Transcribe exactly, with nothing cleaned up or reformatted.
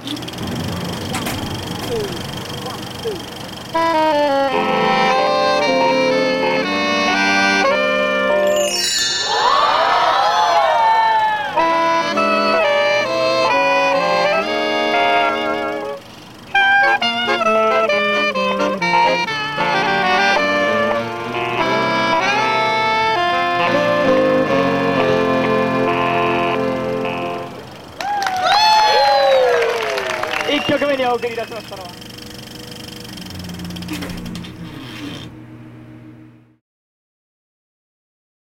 いっきょくめにお送り出しましたのは